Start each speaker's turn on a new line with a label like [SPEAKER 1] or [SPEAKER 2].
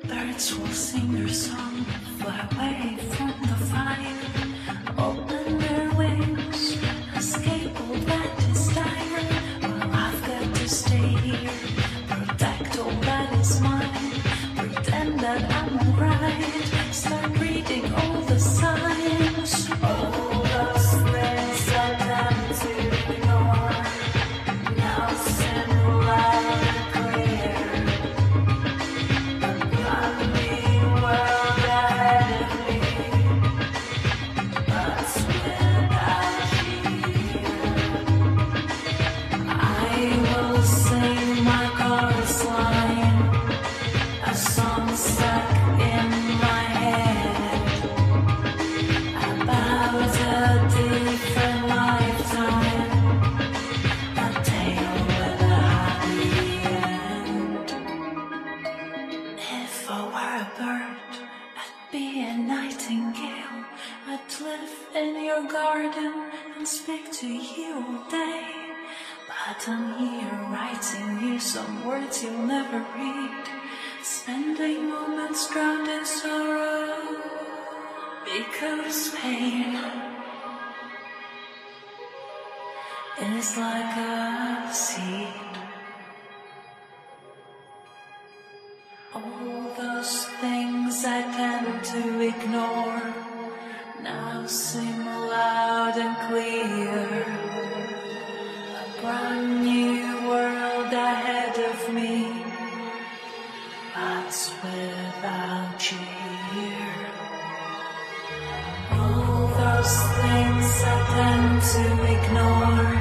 [SPEAKER 1] Birds will sing their song, fly away from the fire, open their wings, escape all that is dire. Well, I've got to stay here, protect all that is mine, pretend that I'm alright, start reading all the signs. All those things I tend to ignore, now seem loud and clear. If I were a bird, I'd be a nightingale. I'd live in your garden and speak to you all day. But I'm here writing you some words you'll never read, spending moments drowned in sorrow, because pain is like a seed. All those things I tend to ignore now seem loud and clear. A brand new world ahead of me, but without you here. All those things I tend to ignore